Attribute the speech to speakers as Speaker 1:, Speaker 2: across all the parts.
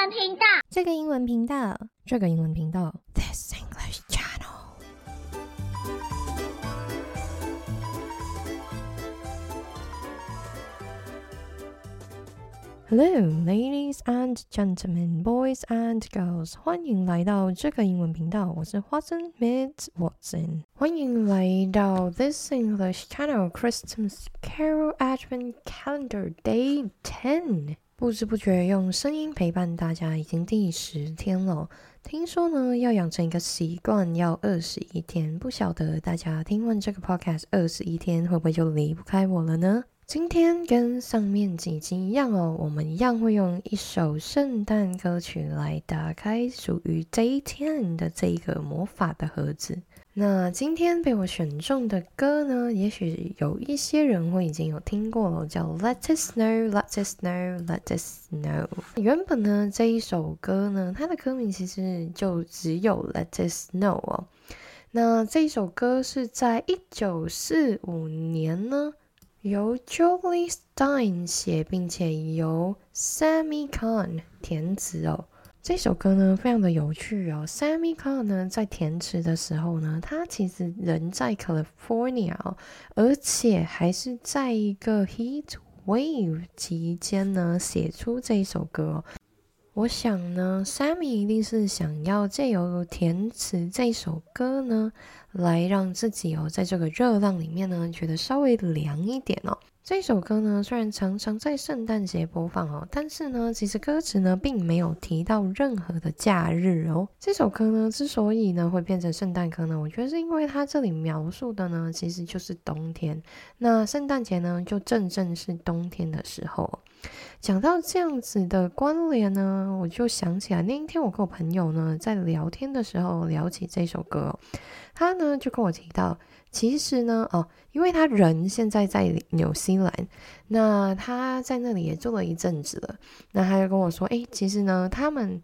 Speaker 1: 文频道，
Speaker 2: 这个英文频道，这个英文频道 ，This English Channel。Hello, ladies and gentlemen, boys and girls， 欢迎来到这个英文频道，我是 Watson Miss Watson， 欢迎来到 This English Channel Christmas Carol Advent Calendar Day 10。不知不觉用声音陪伴大家已经第10天了，听说呢要养成一个习惯要21天，不晓得大家听完这个 podcast 21天会不会就离不开我了呢？今天跟上面几集一样哦，我们一样会用一首圣诞歌曲来打开属于 Day 10的这个魔法的盒子。那今天被我选中的歌呢，也许有一些人会已经有听过了，叫 Let It Snow, Let It Snow, Let It Snow。 原本呢这一首歌呢，它的歌名其实就只有 Let It Snow 哦。那这一首歌是在1945年呢由 Jolly Stein 写，并且由 Sammy Cahn 填词哦。这首歌呢非常的有趣哦。Sammy Cahn 呢在填词的时候呢，他其实人在 California 哦，而且还是在一个 Heat Wave 期间呢写出这一首歌哦。我想呢 Sammy 一定是想要借由填词这首歌呢，来让自己在这个热浪里面呢觉得稍微凉一点哦。这首歌呢虽然常常在圣诞节播放哦，但是呢其实歌词呢并没有提到任何的假日哦。这首歌呢之所以呢会变成圣诞歌呢，我觉得是因为它这里描述的呢其实就是冬天，那圣诞节呢就正是冬天的时候。讲到这样子的关联呢，我就想起来那一天我跟我朋友呢在聊天的时候聊起这首歌哦，他呢就跟我提到，其实呢因为他人现在在纽西兰，那他在那里也住了一阵子了，那他就跟我说其实呢他们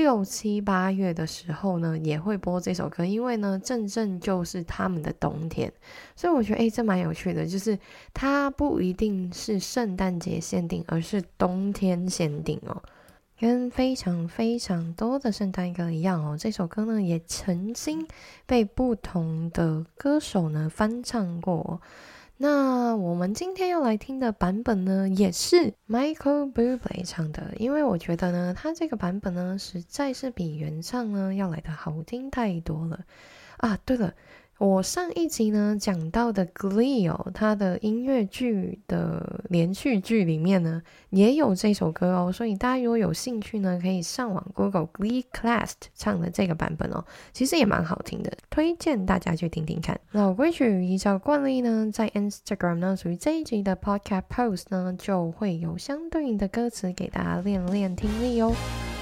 Speaker 2: 6、7、8月的时候呢也会播这首歌，因为呢正就是他们的冬天，所以我觉得这蛮有趣的，就是它不一定是圣诞节限定，而是冬天限定哦。跟非常非常多的圣诞歌一样哦，这首歌呢也曾经被不同的歌手呢翻唱过。那我们今天要来听的版本呢，也是 Michael Bublé 唱的，因为我觉得呢，他这个版本呢，实在是比原唱呢要来的好听太多了啊。对了，我上一集呢讲到的 Glee 它的音乐剧的连续剧里面呢也有这首歌哦，所以大家如果有兴趣呢，可以上网 Google Glee Class 唱的这个版本哦，其实也蛮好听的，推荐大家去听听看。老规矩，依照惯例呢，在 Instagram 呢属于这一集的 Podcast Post 呢就会有相对应的歌词给大家练练听力哦。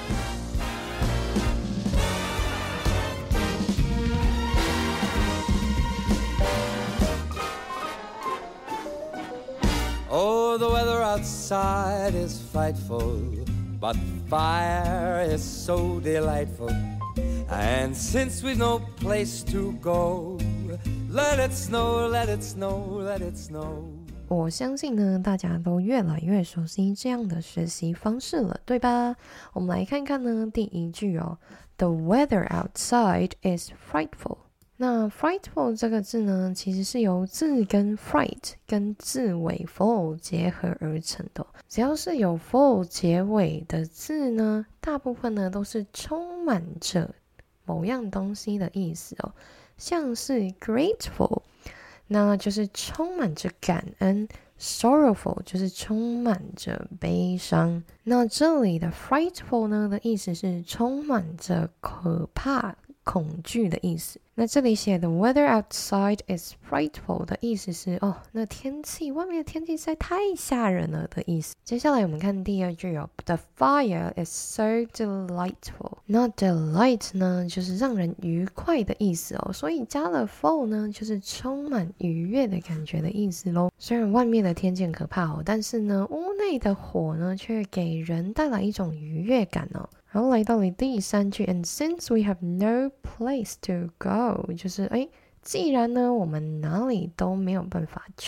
Speaker 3: Oh, the weather outside is frightful, but fire is so delightful. And since we've no place to go, let it snow, let it snow, let it snow.
Speaker 2: 我相信呢，大家都越来越熟悉这样的学习方式了，对吧？我们来看看呢，第一句哦 ，The weather outside is frightful。那 frightful 这个字呢，其实是由字根 fright 跟字尾 full 结合而成的。只要是有 full 结尾的字呢，大部分呢都是充满着某样东西的意思哦。像是 grateful， 那就是充满着感恩， sorrowful 就是充满着悲伤。那这里的 frightful 呢的意思是充满着可怕恐惧的意思。那这里写的 weather outside is frightful 的意思是那外面的天气实在太吓人了的意思。接下来我们看第二句The fire is so delightful。 那 delight 呢就是让人愉快的意思所以加了 full 呢就是充满愉悦的感觉的意思咯。虽然外面的天气很可怕但是呢屋内的火呢却给人带来一种愉悦感然后来到了第3句 And since we have no place to go， 就是既然呢我们哪里都没有办法去，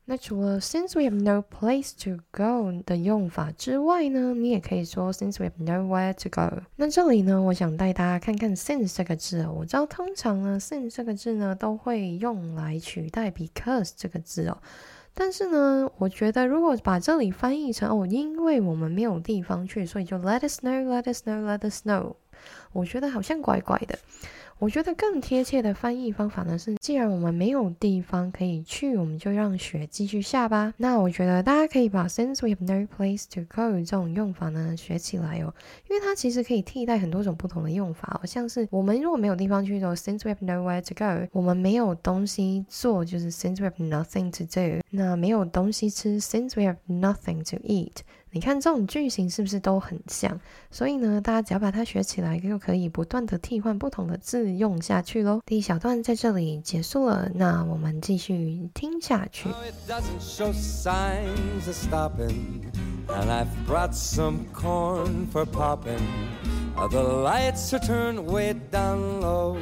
Speaker 2: 那除了 since we have no place to go 的用法之外呢，你也可以说 since we have nowhere to go。那这里呢，我想带大家看看 since 这个字哦。我知道通常呢 since 这个字呢都会用来取代 because 这个字哦。但是呢，我觉得如果把这里翻译成因为我们没有地方去，所以就 let us know, let us know, let us know， 我觉得好像怪怪的。我觉得更贴切的翻译方法呢是，既然我们没有地方可以去，我们就让雪继续下吧。那我觉得大家可以把 since we have no place to go 这种用法呢学起来哦，因为它其实可以替代很多种不同的用法哦，像是我们如果没有地方去的 since we have nowhere to go， 我们没有东西做就是 since we have nothing to do， 那没有东西吃 since we have nothing to eat。你看这种句型是不是都很像？所以呢，大家只要把它学起来，就可以不断的替换不同的字用下去咯。第一小段在这里结束了，那我们继续听下去。
Speaker 3: It doesn't show signs of stopping, and I've brought some corn for popping. The lights are turned way down low.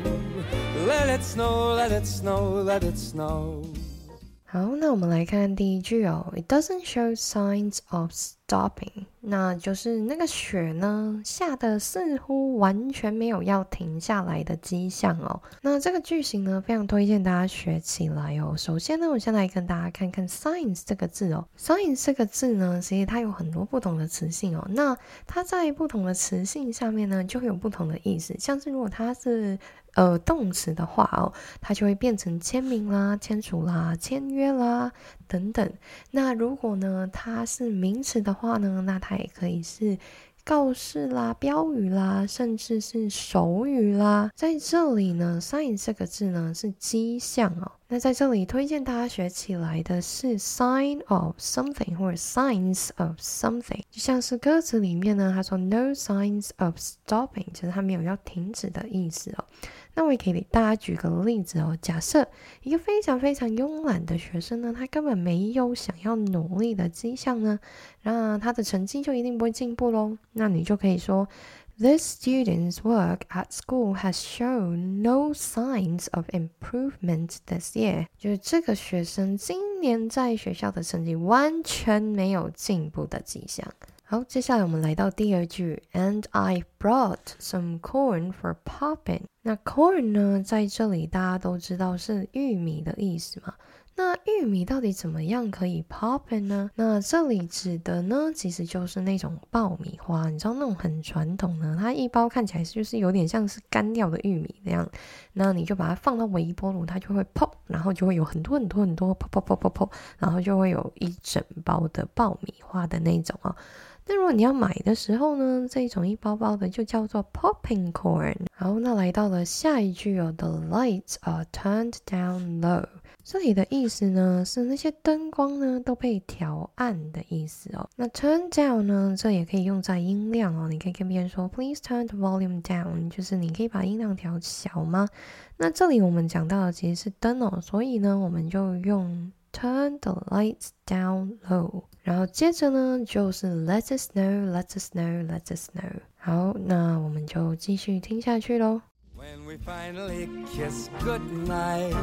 Speaker 3: Let it snow, let it snow, let it snow.
Speaker 2: 好，那我们来看第一句哦。It doesn't show signs of stopping， 那就是那个雪呢下的似乎完全没有要停下来的迹象哦。那这个句型呢非常推荐大家学起来哦。首先呢，我先来跟大家看看 signs 这个字哦。signs 这个字呢，其实它有很多不同的词性哦。那它在不同的词性下面呢，就会有不同的意思。像是如果它是动词的话哦，它就会变成签名啦、签署啦、签约啦等等。那如果呢它是名词的话呢，那它也可以是告示啦、标语啦，甚至是手语啦。在这里呢 sign 这个字呢是迹象哦。那在这里推荐大家学起来的是 sign of something 或者 signs of something， 就像是歌词里面呢他说 no signs of stopping， 就是他没有要停止的意思哦。那我也可以给大家举个例子哦，假设一个非常非常慵懒的学生呢，他根本没有想要努力的迹象呢，那他的成绩就一定不会进步咯。那你就可以说 This student's work at school has shown no signs of improvement this year， 就是这个学生今年在学校的成绩完全没有进步的迹象。好，接下来我们来到第二句 And I brought some corn for popping。 那 corn 呢在这里大家都知道是玉米的意思嘛，那玉米到底怎么样可以 popping 呢？那这里指的呢其实就是那种爆米花，你知道那种很传统的，它一包看起来就是有点像是干掉的玉米那样，那你就把它放到微波炉，它就会 pop， 然后就会有很多很多很多 pop pop pop pop pop， 然后就会有一整包的爆米花的那种哦。那如果你要买的时候呢，这种一包包的就叫做 popping corn。 好，那来到了下一句哦 The lights are turned down low， 这里的意思呢是那些灯光呢都被调暗的意思哦。那 turn down 呢这也可以用在音量哦，你可以跟别人说 Please turn the volume down， 就是你可以把音量调小吗？那这里我们讲到的其实是灯哦，所以呢我们就用Turn the lights down low， 然后接着呢就是 Let it snow, let it snow, let it snow。 好，那我们就继续听下去咯。
Speaker 3: When we finally kiss goodnight,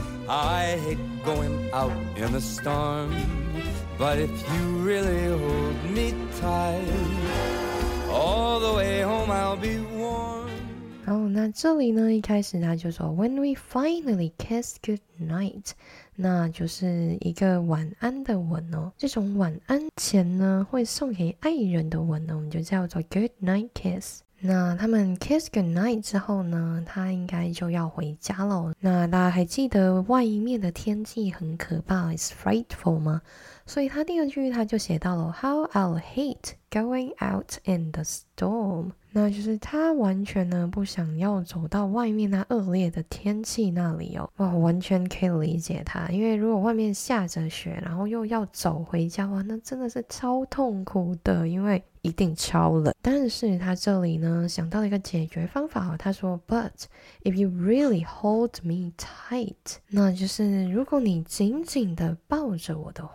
Speaker 3: I hate going out in the storm, but if you really hold me tight, all the way home I'll be warm。
Speaker 2: 好，那这里呢一开始他就说 When we finally kiss goodnight， 那就是一个晚安的吻哦。这种晚安前呢会送给爱人的吻呢，我们就叫做 good night kiss。 那他们 kiss goodnight 之后呢，他应该就要回家了。那大家还记得外面的天气很可怕 It's frightful 吗？所以他第二句他就写到了 How I'll hate going out in the storm， 那就是他完全呢不想要走到外面那恶劣的天气那里哦。哇，我完全可以理解他，因为如果外面下着雪，然后又要走回家，哇，那真的是超痛苦的，因为一定超冷。但是他这里呢想到了一个解决方法哦，他说 But if you really hold me tight， 那就是如果你紧紧的抱着我的话哦，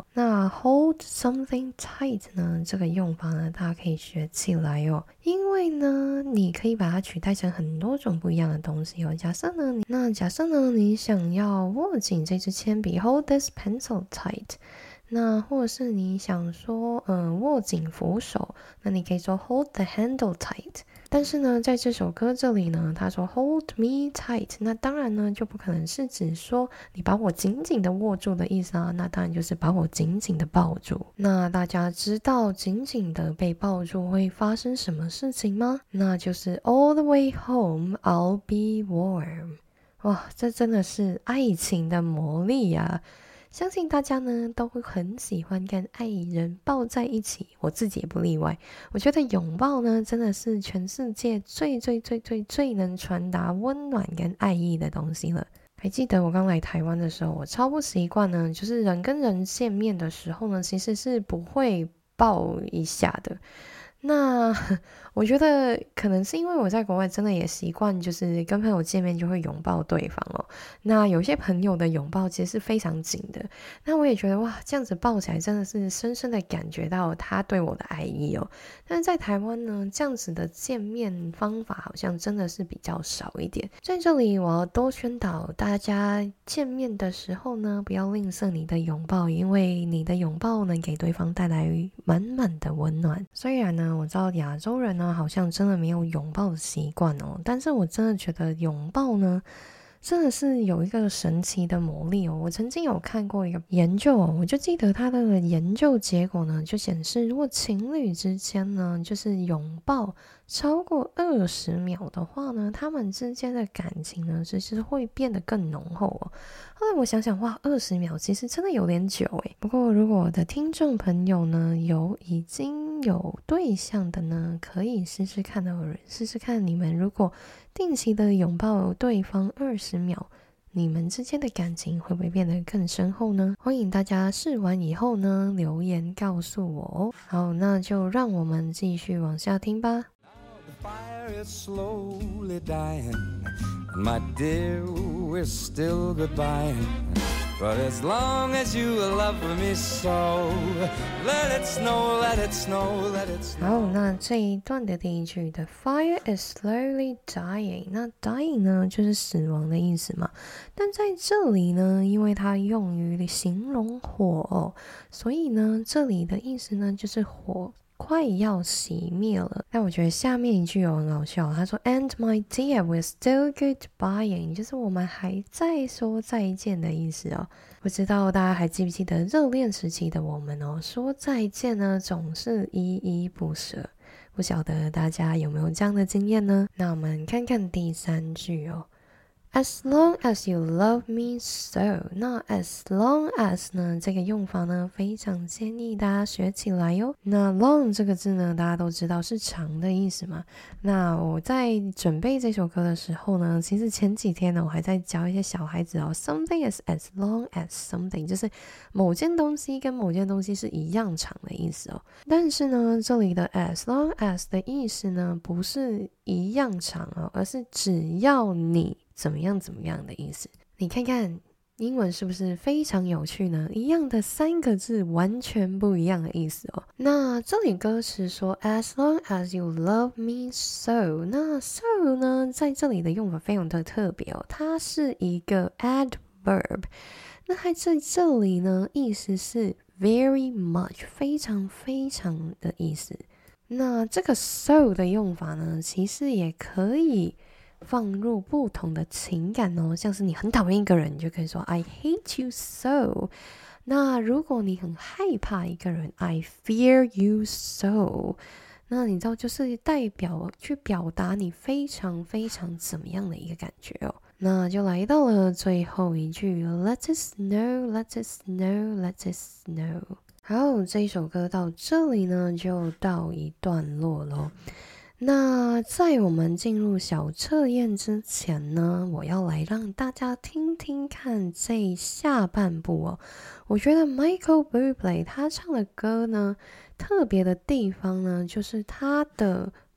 Speaker 2: 那 hold something tight 呢，这个用法呢，大家可以学起来哦。因为呢，你可以把它取代成很多种不一样的东西哦。假设呢，你想要握紧这支铅笔 ，hold this pencil tight。那或者是你想说，握紧扶手，那你可以说 hold the handle tight。但是呢，在这首歌这里呢，他说 hold me tight， 那当然呢，就不可能是指说你把我紧紧的握住的意思啊，那当然就是把我紧紧的抱住。那大家知道紧紧的被抱住会发生什么事情吗？那就是 all the way home I'll be warm。哇，这真的是爱情的魔力啊！相信大家呢都会很喜欢跟爱人抱在一起，我自己也不例外。我觉得拥抱呢真的是全世界最能传达温暖跟爱意的东西了。还记得我刚来台湾的时候，我超不习惯呢，就是人跟人见面的时候呢，其实是不会抱一下的。那我觉得可能是因为我在国外真的也习惯，就是跟朋友见面就会拥抱对方哦。那有些朋友的拥抱其实是非常紧的，那我也觉得哇，这样子抱起来真的是深深的感觉到他对我的爱意哦。但是在台湾呢，这样子的见面方法好像真的是比较少一点。在这里我要多宣导大家，见面的时候呢，不要吝啬你的拥抱，因为你的拥抱能给对方带来满满的温暖。虽然呢，我知道亚洲人呢好像真的没有拥抱的习惯哦，但是我真的觉得拥抱呢真的是有一个神奇的魔力哦。我曾经有看过一个研究哦，我就记得他的研究结果呢就显示，如果情侣之间呢就是拥抱超过20秒的话呢，他们之间的感情呢其实会变得更浓厚哦。后来我想想，哇，20秒其实真的有点久诶。不过如果我的听众朋友呢已经有对象的呢，可以试试看你们如果定期的拥抱对方20秒，你们之间的感情会不会变得更深厚呢？欢迎大家试完以后呢留言告诉我哦。好，那就让我们继续往下听吧。
Speaker 3: The fire is slowly dying, and my dear, we're still goodbying. But as long as you love me so, let it snow, let it snow, let it snow.
Speaker 2: 好，那这一段的第一句 The fire is slowly dying， 那 dying 呢就是死亡的意思嘛。但在这里呢，因为它用于形容火哦，所以呢这里的意思呢就是火快要熄灭了。但我觉得下面一句有很好笑，他说 And my dear, we're still goodbying， 就是我们还在说再见的意思哦。不知道大家还记不记得热恋时期的我们哦，说再见呢总是依依不舍。不晓得大家有没有这样的经验呢？那我们看看第3句哦。As long as you love me so， 那 as long as 呢这个用法呢非常建议大家学起来哟。那 long 这个字呢大家都知道是长的意思嘛。那我在准备这首歌的时候呢，其实前几天呢我还在教一些小孩子哦 something is as long as something， 就是某件东西跟某件东西是一样长的意思哦。但是呢这里的 as long as 的意思呢不是一样长哦，而是只要你怎么样的意思。你看看英文是不是非常有趣呢？一样的3个字，完全不一样的意思哦。那这里歌词说 As long as you love me so， 那 so 呢在这里的用法非常的特别哦，它是一个 adverb。那它在这里呢意思是 very much， 非常非常的意思。那这个 so 的用法呢其实也可以放入不同的情感哦，像是你很讨厌一个人，你就可以说 I hate you so。 那如果你很害怕一个人 I fear you so， 那你知道就是去表达你非常非常怎么样的一个感觉哦。那就来到了最后一句 Let it snow, let it snow, let it snow。 好，这一首歌到这里呢就到一段落咯。那在我们进入小测验之前呢，我要来让大家听听看这下半部哦。我觉得 Michael Bublé 他唱的歌呢，特别的地方呢，就是他的不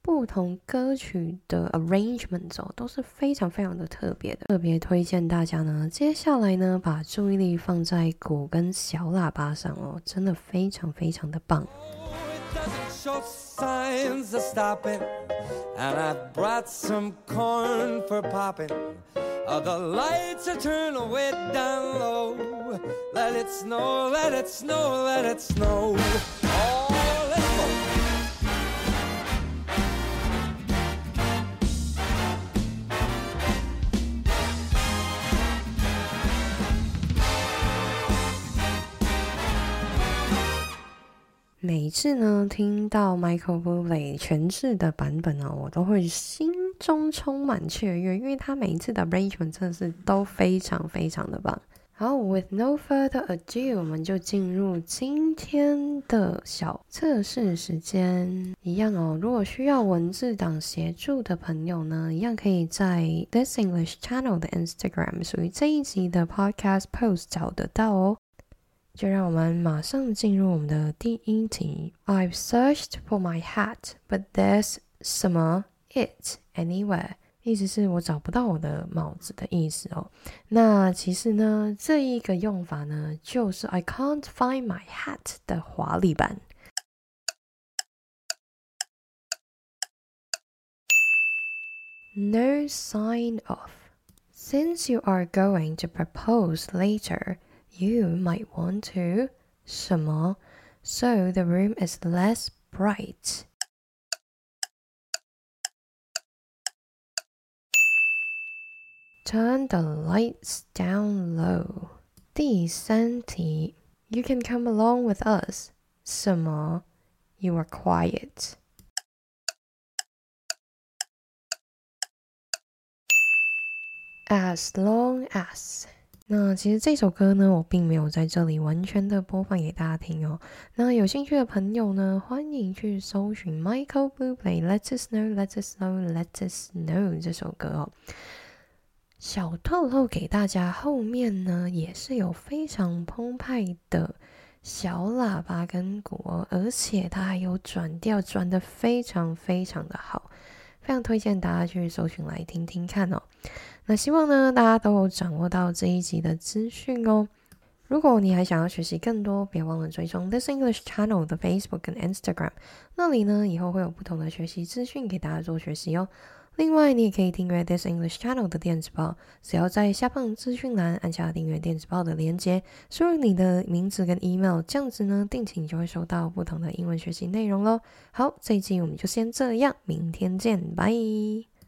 Speaker 2: 不同歌曲的 arrangements 都是非常非常的特别的，特别推荐大家呢，接下来呢把注意力放在鼓跟小喇叭上真的非常非常的棒。
Speaker 3: Show signs of stopping, and I've brought some corn for popping. The lights are turned way down low. Let it snow, let it snow, let it snow. Oh, let's go.
Speaker 2: 每次呢听到 Michael Bublé 诠释的版本我都会心中充满雀跃，因为他每一次的 arrangement 真的是都非常非常的棒。好 ，with no further ado， 我们就进入今天的小测试时间。一样如果需要文字档协助的朋友呢，一样可以在 This English Channel 的 Instagram 属于这一集的 podcast post 找得到就让我们马上进入我们的第一题。I've searched for my hat, but there's 什么 it anywhere， 意思是我找不到我的帽子的意思那其实呢，这一个用法呢，就是 I can't find my hat 的华丽版。No sign of. Since you are going to propose later,You might want to 什么 So the room is less bright. Turn the lights down low. 第三题 You can come along with us. 什么 You are quiet. As long as那其实这首歌呢，我并没有在这里完全的播放给大家听那有兴趣的朋友呢，欢迎去搜寻 Michael Bublé Let It Snow, Let It Snow, Let It Snow 这首歌小透露给大家，后面呢也是有非常澎湃的小喇叭跟鼓而且它还有转调，转得非常非常的好，非常推荐大家去搜寻来听听看那希望呢大家都有掌握到这一集的资讯如果你还想要学习更多，别忘了追踪 This English Channel 的 Facebook 跟 Instagram， 那里呢以后会有不同的学习资讯给大家做学习另外你也可以订阅 This English Channel 的电子报，只要在下方资讯栏按下订阅电子报的连结，输入你的名字跟 email， 这样子呢定期你就会收到不同的英文学习内容咯。好，这一集我们就先这样，明天见，拜。